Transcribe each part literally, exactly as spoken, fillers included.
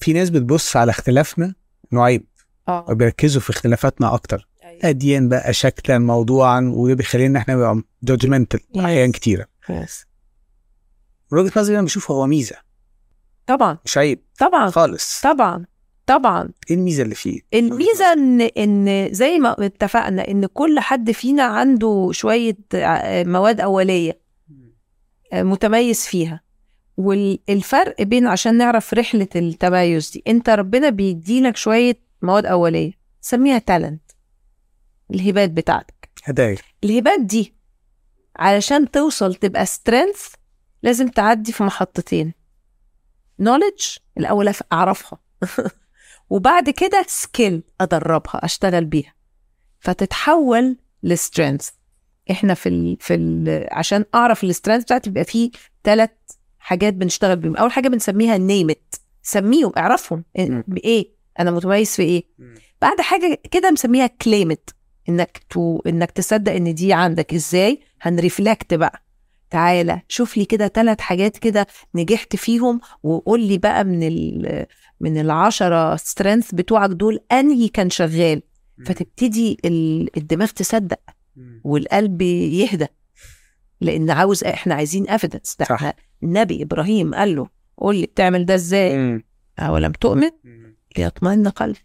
في ناس بتبص على اختلافنا انه عيب اه وبيركزوا في اختلافاتنا اكتر، أيوة. اديان بقى شكلا موضوعا، وده بيخلينا احنا نبقى جادجمنتال احيان كتيره. yes. من وجهه نظري انا بشوفه هو ميزه طبعا مش عيب طبعا خالص. طبعا طبعا ايه الميزه اللي فيه؟ الميزه ان ان زي ما اتفقنا ان كل حد فينا عنده شويه مواد اوليه متميز فيها، والفرق بين عشان نعرف رحله التميز دي، انت ربنا بيديلك شويه مواد اوليه سميها تالنت، الهبات بتاعتك. هدايا الهبات دي علشان توصل تبقى سترينث لازم تعدي في محطتين، knowledge الأول أعرفها وبعد كده skill أدربها أشتغل بيها فتتحول لسترينث. إحنا في ال في ال عشان أعرف السترينث بتاعتي بيبقى فيه ثلاث حاجات بنشتغل بيهم. أول حاجة بنسميها name it، سميهم اعرفهم بإيه أنا متميز في إيه. بعد حاجة كده مسميها claim it، إنك تو إنك تصدق إن دي عندك. إزاي هنرفلكت بقى؟ تعالى شوف لي كده ثلاث حاجات كده نجحت فيهم وقول لي بقى من ال من العشرة سترينث بتوعك دول أنهي كان شغال. فتبتدي الدماغ تصدق والقلب يهدى، لأن عاوز إحنا عايزين evidence. ده النبي إبراهيم قال له قول لي بتعمل ده إزاي؟ أولم تؤمن؟ ليطمئن قلبي.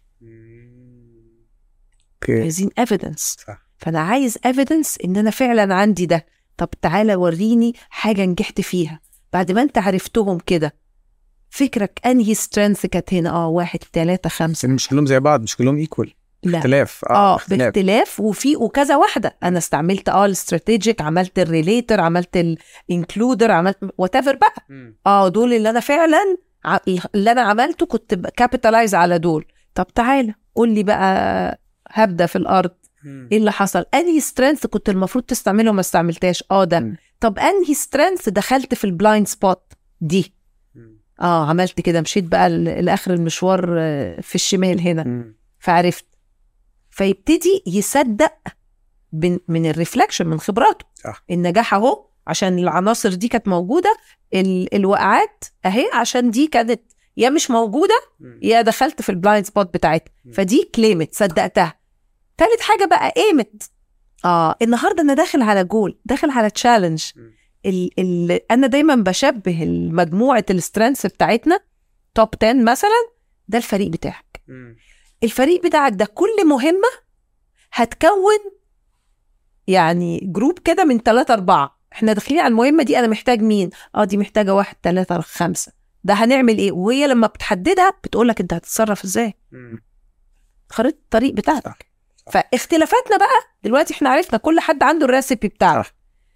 عايزين evidence. فأنا عايز evidence إن أنا فعلا عندي ده. طب تعالى وريني حاجة نجحت فيها. بعد ما انت عرفتهم كده فكرك انهي سترينث كانت هنا؟ اه واحد ثلاثة خمسة. مش كلهم زي بعض، مش كلهم ايكوال، اختلاف. اه, آه باختلاف وفي وكذا واحدة. انا استعملت اه الاستراتيجيك، عملت الريليتر، عملت الانكلودر، عملت واتيفر بقى. م. اه دول اللي انا فعلا اللي انا عملته كنت كابيتالايز على دول. طب تعالى قول لي بقى هبدأ في الارض ايه اللي حصل؟ انهي سترينث كنت المفروض تستعمله وما استعملتاش؟ اه ده. م. طب انهي سترينث دخلت في البلايند سبوت دي؟ م. اه عملت كده، مشيت بقى لاخر المشوار في الشمال هنا. م. فعرفت. فيبتدي يصدق من الريفلكشن من خبراته. صح. النجاح اهو عشان العناصر دي كانت موجوده، الوقعات اهي عشان دي كانت يا مش موجوده م. يا دخلت في البلايند سبوت بتاعتها. فدي كليمت صدقتها. ثالث حاجة بقى قيمت. آه النهاردة أنا داخل على جول، داخل على تشالنج. ال ال أنا دايما بشبه المجموعة السترينث بتاعتنا توب عشرة مثلا، ده الفريق بتاعك. م. الفريق بتاعك ده كل مهمة هتكون يعني جروب كده من ثلاثة أربعة. احنا داخلين على المهمة دي، أنا محتاج مين؟ آه دي محتاجة واحد ثلاثة خمسة. ده هنعمل إيه؟ وهي لما بتحددها بتقولك أنت هتتصرف إزاي. خريطة الطريق بتاعتك. فاختلافاتنا بقى دلوقتي احنا عرفنا كل حد عنده الريسيبي بتاعه.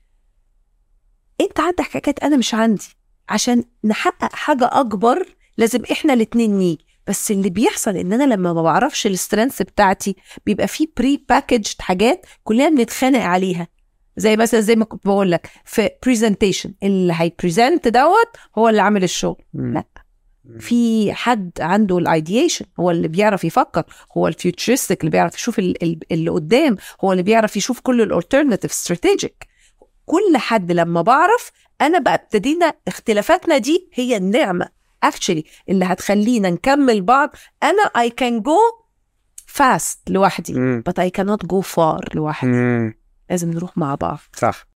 انت عندك حاجات انا مش عندي. عشان نحقق حاجة اكبر لازم احنا الاتنين نيجي. بس اللي بيحصل ان انا لما ما بعرفش السترينث بتاعتي بيبقى فيه بري باكجد حاجات كلنا بنتخانق عليها. زي مثلا زي ما كنت بقول لك في بريزنتيشن، اللي هيبريزنت دوت هو اللي عامل الشغل. م. لا، في حد عنده الايديشن، هو اللي بيعرف يفكر، هو الفيوتشرستيك اللي بيعرف يشوف اللي قدام، هو اللي بيعرف يشوف كل الالترناتيف استراتيجيك. كل حد لما بعرف انا بقى ابتدينا اختلافاتنا دي هي النعمه اكشلي اللي هتخلينا نكمل بعض. انا I can go fast لوحدي م. but I cannot go far لوحدي. م. لازم نروح مع بعض. صح.